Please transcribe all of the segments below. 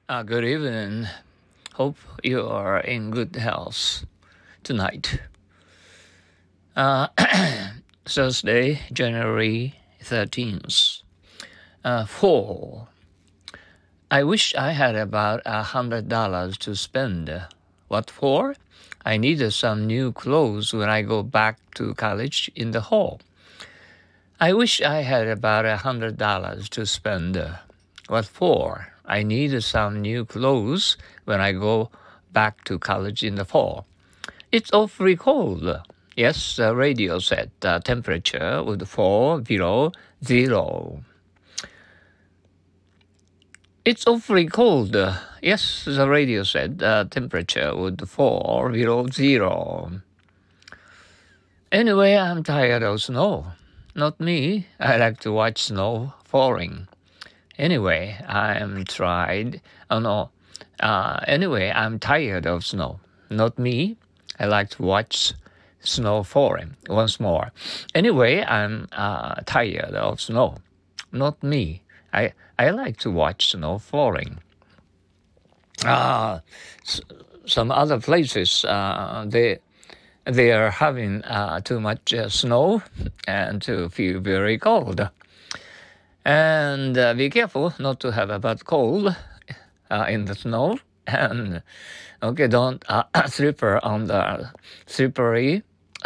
Good evening. Hope you are in good health tonight. Uh, Thursday, January 13th. Fall. I wish I had about $100 to spend. What for? I needed some new clothes when I go back to college in the fall. I wish I had about $100 to spend. What for? I need some new clothes when I go back to college in the fall. It's awfully cold. Yes, the radio said the temperature would fall below zero. It's awfully cold. Yes, the radio said the temperature would fall below zero. Anyway, I'm tired of snow. Not me. I like to watch snow falling. Anyway, I'm tired of snow. Not me. I like to watch snow falling. Once more. Anyway, I'm tired of snow. Not me. I like to watch snow falling. Some other places, they are having too much snow and to feel very cold. And be careful not to have a bad cold in the snow. And don't slipper on the slippery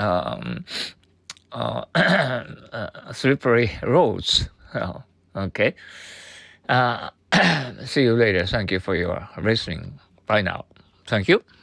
slippery roads. Okay. See you later. Thank you for your listening. Bye now. Thank you.